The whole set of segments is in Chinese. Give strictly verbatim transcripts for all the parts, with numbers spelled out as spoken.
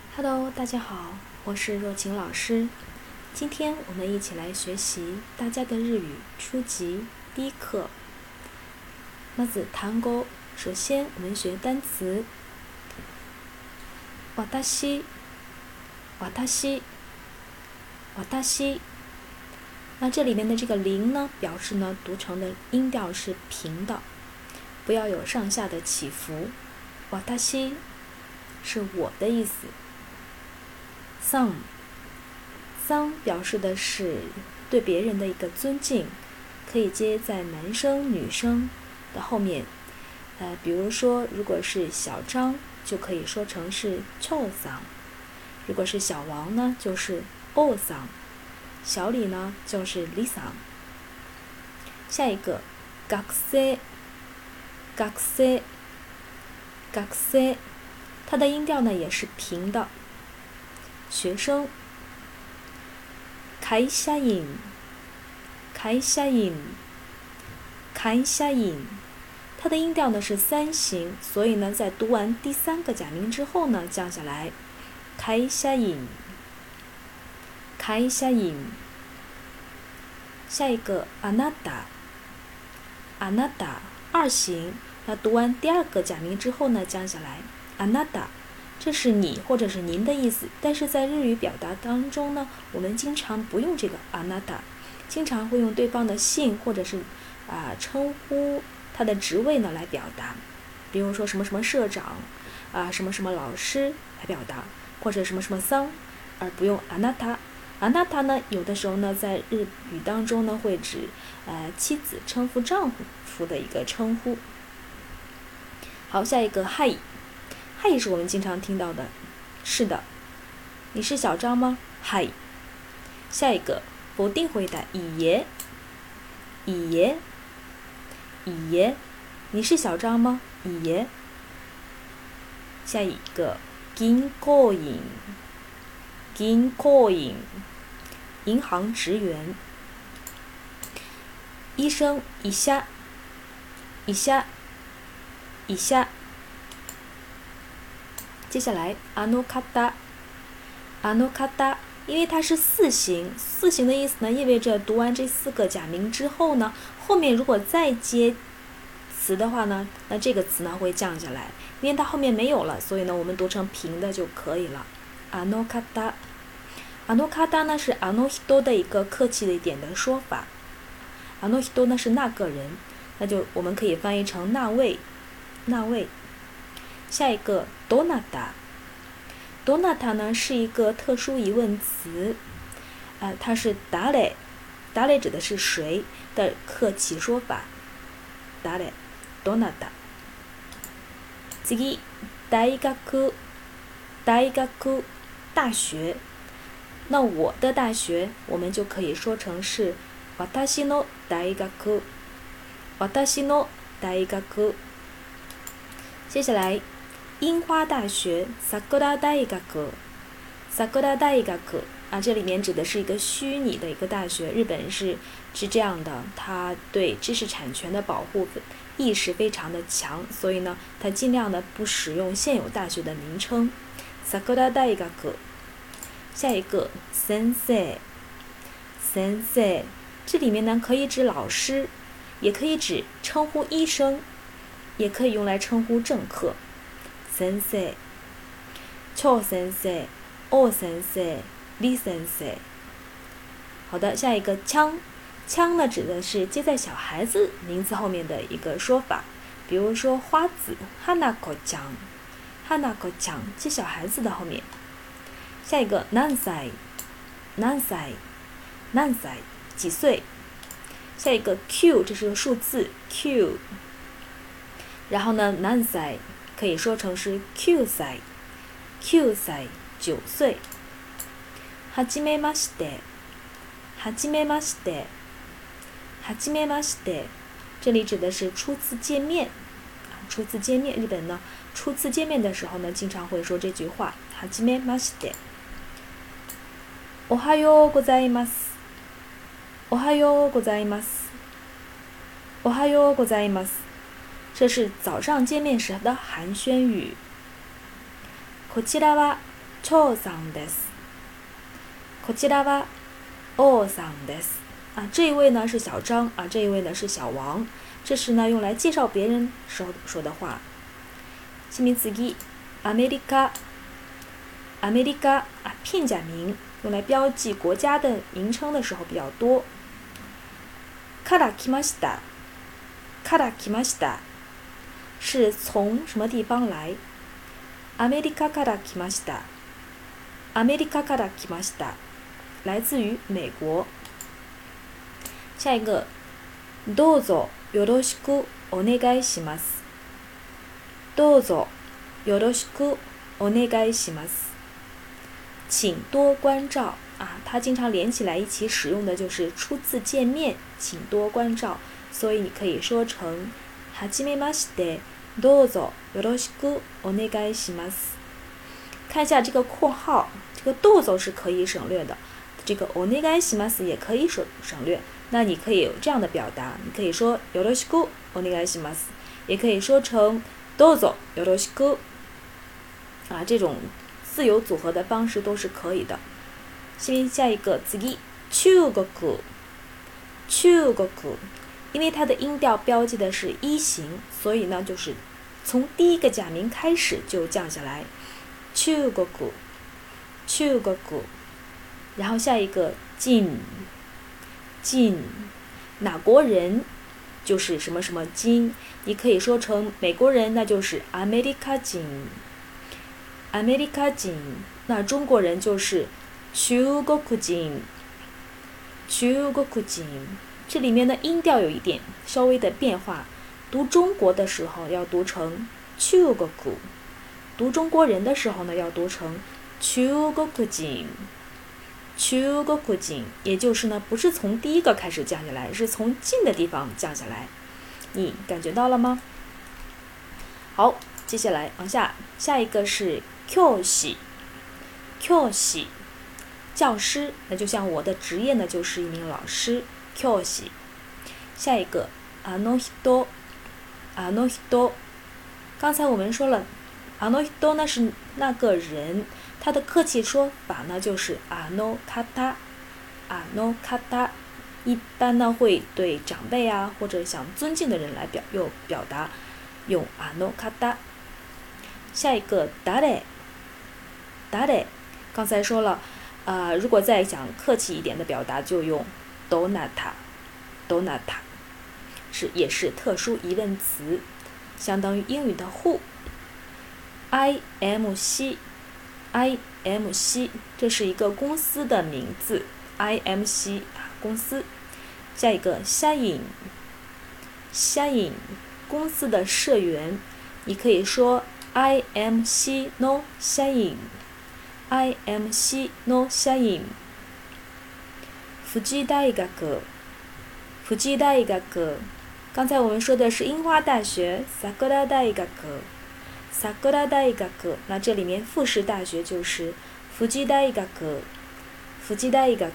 Hello，大家好，我是若晴老师。今天我们一起来学习大家的日语初级第一课。まず単語，首先我们学单词。私、私、私。那这里面的这个零呢，表示呢读成的音调是平的，不要有上下的起伏。私是我的意思。桑，桑表示的是对别人的一个尊敬，可以接在男生、女生的后面。呃，比如说，如果是小张，就可以说成是秋桑；如果是小王呢，就是欧桑；小李呢，就是李桑。下一个，学生，学生，学生，它的音调呢也是平的。学生，会社員、会社員、会社員，它的音调呢是三形，所以呢在读完第三个假名之后呢降下来，会社員、会社員。下一个，あなた、あなた，二形，那读完第二个假名之后呢降下来，あなた。这是你或者是您的意思，但是在日语表达当中呢，我们经常不用这个あなた，经常会用对方的姓或者是啊、呃、称呼他的职位呢来表达，比如说什么什么社长啊、呃、什么什么老师来表达，或者什么什么桑，而不用あなた。あなた呢，有的时候呢在日语当中呢会指呃妻子称呼丈夫的一个称呼。好，下一个はい。嗨是我们经常听到的，是的。你是小张吗？嗨。下一个否定回答，いいえ。いいえ。いいえ。你是小张吗？いいえ。下一个銀行員。銀行員。银行职员。医生，医者。医者。医者。接下来あの方，あの方，因为它是四形，四形的意思呢，意味着读完这四个假名之后呢，后面如果再接词的话呢，那这个词呢会降下来，因为它后面没有了，所以呢我们读成平的就可以了。あの方，あの方呢是あの人的一个客气的一点的说法，あの人呢是那个人，那就我们可以翻译成那位，那位。下一个どなた，どなた呢是一个特殊疑问词，呃，它是誰，誰指的是谁的客气说法，誰、どなた。次、大学、大学、大学。那我的大学，我们就可以说成是私の大学、私の大学。接下来。樱花大学，桜大学，桜大学啊，这里面指的是一个虚拟的一个大学。日本是是这样的，它对知识产权的保护意识非常的强，所以呢，它尽量的不使用现有大学的名称。桜大学。下一个，先生，先生，这里面呢可以指老师，也可以指称呼医生，也可以用来称呼政客。先生、邱先生、欧先生、李先生。好的，下一个枪，枪呢指的是接在小孩子名字后面的一个说法，比如说花子、花子ちゃん、花子ちゃん接小孩子的后面。下一个何歳、何歳、何歳几岁。下一个 Q， 这是个数字 Q， 然后呢何歳可以说成是九歳、九歳、九岁。はじめまして、はじめまして、はじめまして，这里指的是初次见面。初次见面，日本呢，初次见面的时候呢，经常会说这句话。はじめまして。おはようございます。おはようございます。おはようございます。这是早上见面时的寒暄语。こちらは長さんです。こちらは王さんです。啊，这一位呢是小张啊，这一位呢是小王，这是呢用来介绍别人时候说的话。下面次アメリカ、アメリカ啊片假名，用来标记国家的名称的时候比较多。から来ました、から来ました。是从什么地方来？アメリカから来ました。アメリカから来ました。来自于美国。下一个，どうぞよろしくお願いします。どうぞよろしくお願いします。请多关照啊，它经常连起来一起使用的就是初次见面，请多关照，所以你可以说成はじめまして。どうぞよろしくお願いします。看一下这个括号，这个どうぞ是可以省略的，这个お願いします也可以省省略。那你可以有这样的表达，你可以说よろしくお願いします，也可以说成どうぞよろしく。啊，这种自由组合的方式都是可以的。先下一个次，中国，中国。因为它的音调标记的是一型，所以呢就是从第一个假名开始就降下来。中国，中国。然后下一个进，进，哪国人就是什么什么进，你可以说成美国人，那就是アメリカ人，アメリカ人。那中国人就是中国人，中国人。这里面的音调有一点稍微的变化，读中国的时候要读成中国，读中国人的时候呢要读成中国人，中国人，也就是呢不是从第一个开始降下来，是从近的地方降下来，你感觉到了吗？好，接下来往下，下一个是教師，教師，教师，那就像我的职业呢就是一名老师。教師。下一个あの人，あの人。刚才我们说了，あの人呢是那个人，它的客气说法呢就是あの方，あの方。一般呢会对长辈啊或者想尊敬的人来表用表达，用あの方。下一个誰，誰。刚才说了，呃，如果再想客气一点的表达，就用どなた，どなた，是也是特殊疑问词，相当于英语的 who。I M C，I M C， 这是一个公司的名字 ，I M C 公司。下一个社員，社員，公司的社員，你可以说 I M C の社員。I M C の社員。富士大学，富士大学。刚才我们说的是樱花大学，桜大学，桜大学。那这里面富士大学就是富士大学，富士大学。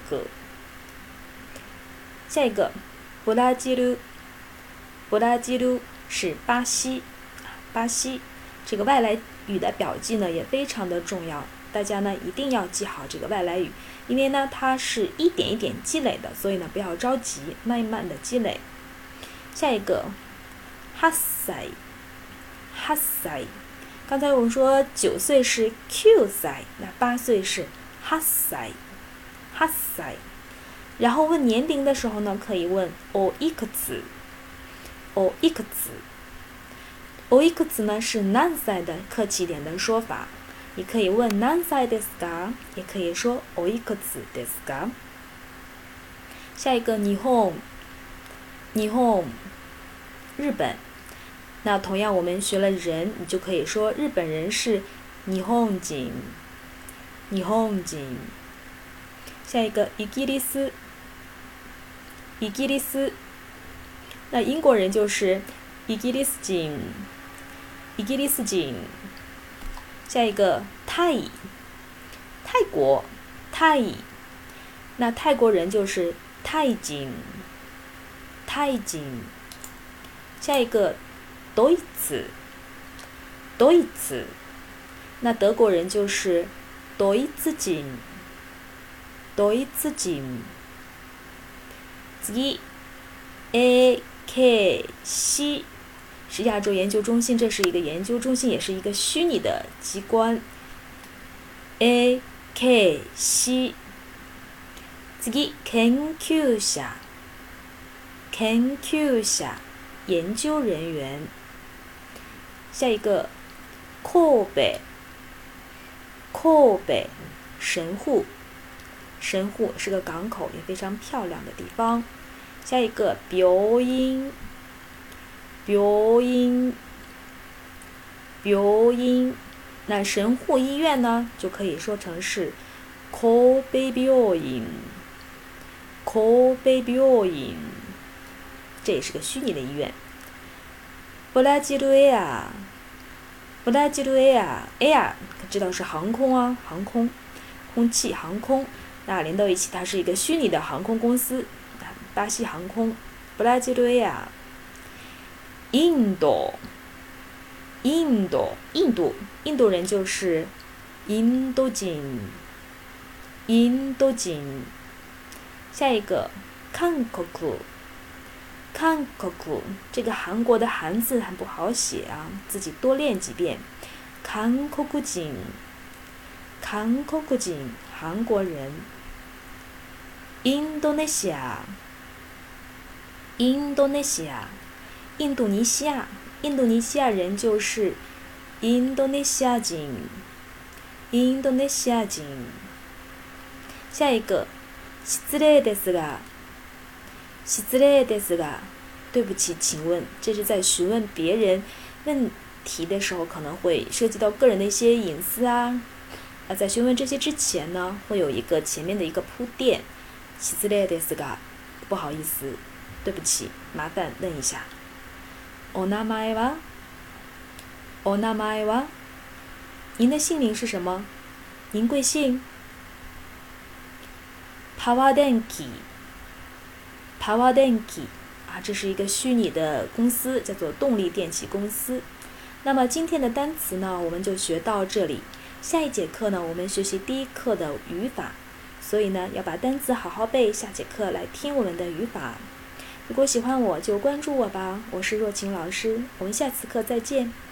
下一个，ブラジル，ブラジル是巴西，巴西。这个外来语的表记呢也非常的重要，大家呢一定要记好这个外来语，因为呢它是一点一点积累的，所以呢不要着急，慢慢的积累。下一个，八歳，八歳。刚才我们说九岁是九歳，那八岁是八歳，八歳。然后问年龄的时候呢，可以问おいくつ，おいくつ。おいくつ呢是何歳的客气点的说法，你可以问何歳ですか，也可以说おいくつですか。下一个日本，日本，日本。那同样我们学了人，你就可以说日本人是日本人，日本人。下一个イギリス，イギリス。那英国人就是イギリス人，イギリス人。下一个タイ，泰国，タイ。那泰国人就是タイ人，タイ人。下一个ドイツ，ドイツ。那德国人就是ドイツ人ドイツ人次 A K C 是亚洲研究中心，这是一个研究中心，也是一个虚拟的机关。A K C次研究者研究者研究人员。下一个神戸神戸神户神户是个港口，也非常漂亮的地方。下一个病院病院病院，那神户医院呢就可以说成是神戸病院神戸病院，这也是个虚拟的医院。ブラジルエアブラジルエア Air 知道是航空啊，航空空气航空，那连到一起它是一个虚拟的航空公司，巴西航空。ブラジルエア印度印度印度印度人就是印度人印度人。下一个韓国韓国这个韩国的韩字很不好写啊，自己多练几遍。韓国人韓国人韩国人。印度尼西亚印度尼西亚印度尼西亚印度尼西亚人就是印度尼西亚人印度尼西亚人。下一个失礼ですが失礼ですが对不起请问，这是在询问别人问题的时候可能会涉及到个人的一些隐私啊。那在询问这些之前呢，会有一个前面的一个铺垫。失礼ですが不好意思对不起麻烦问一下。お名前はお名前は您的姓名是什么？您贵姓？パワー電気パワー電気啊，这是一个虚拟的公司，叫做动力电气公司。那么今天的单词呢，我们就学到这里。下一节课呢，我们学习第一课的语法，所以呢，要把单词好好背，下节课来听我们的语法。如果喜欢我，就关注我吧，我是若晴老师，我们下次课再见。